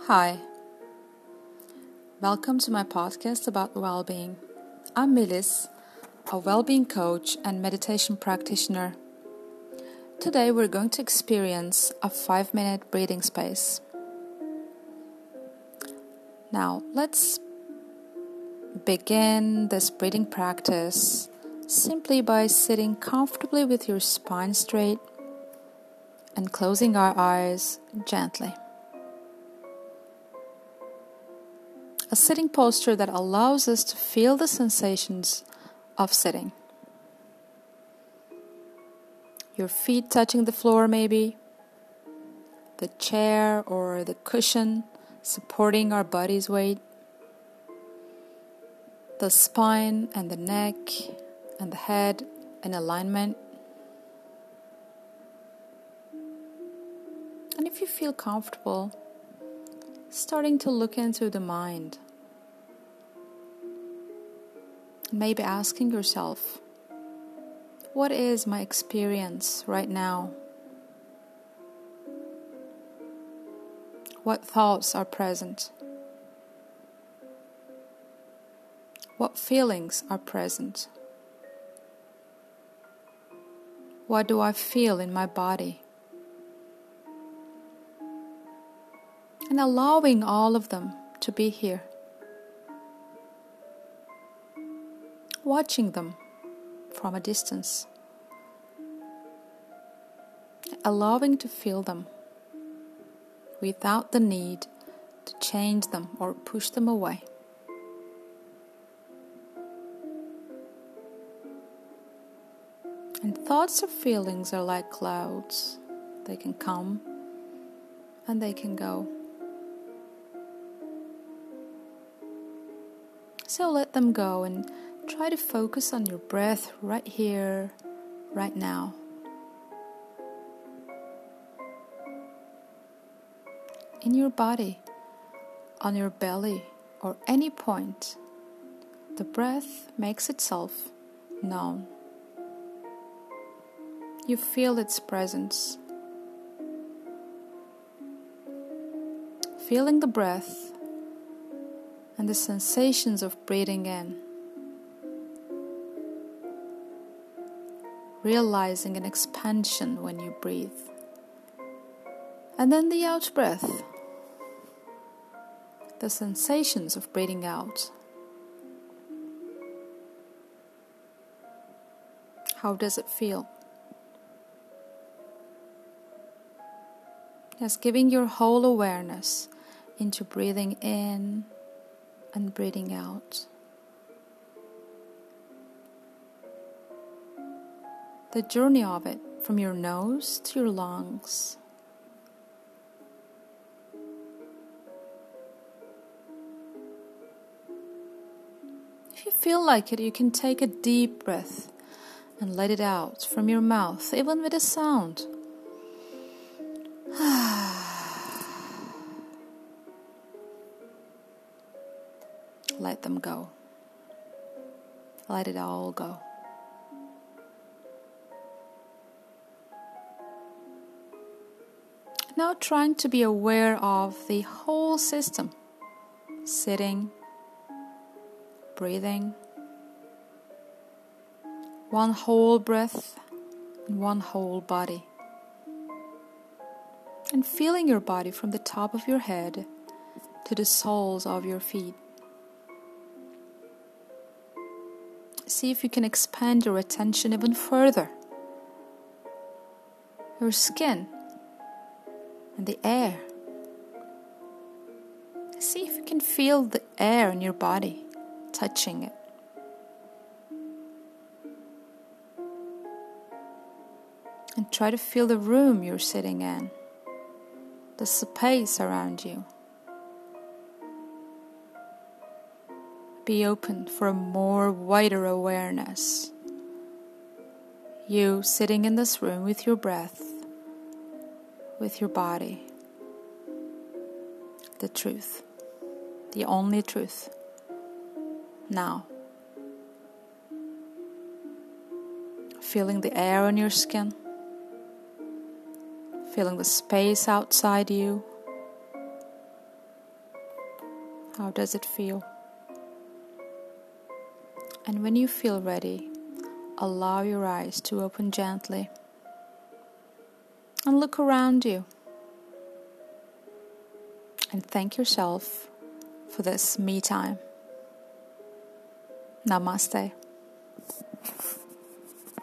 Hi, welcome to my podcast about well-being. I'm Melis, a well-being coach and meditation practitioner. Today we're going to experience a 5-minute breathing space. Now let's begin this breathing practice simply by sitting comfortably with your spine straight and closing our eyes gently. A sitting posture that allows us to feel the sensations of sitting. Your feet touching the floor maybe, the chair or the cushion supporting our body's weight, the spine and the neck and the head in alignment. And if you feel comfortable, starting to look into the mind. Maybe asking yourself, what is my experience right now? What thoughts are present? What feelings are present? What do I feel in my body? And allowing all of them to be here. Watching them from a distance. Allowing to feel them without the need to change them or push them away. And thoughts or feelings are like clouds. They can come and they can go. So let them go and try to focus on your breath right here, right now. In your body, on your belly, or any point, the breath makes itself known. You feel its presence. Feeling the breath and the sensations of breathing in. Realizing an expansion when you breathe. And then the out breath. The sensations of breathing out. How does it feel? Just giving your whole awareness into breathing in and breathing out. The journey of it from your nose to your lungs. If you feel like it, you can take a deep breath and let it out from your mouth, even with a sound. Let them go. Let it all go. Now trying to be aware of the whole system. Sitting, breathing, one whole breath and one whole body. And feeling your body from the top of your head to the soles of your feet. See if you can expand your attention even further. Your skin and the air. See if you can feel the air in your body touching it. And try to feel the room you're sitting in, the space around you. Be open for a more wider awareness. You sitting in this room with your breath, with your body. The truth. The only truth. Now. Feeling the air on your skin. Feeling the space outside you. How does it feel? And when you feel ready, allow your eyes to open gently and look around you. And thank yourself for this me time. Namaste.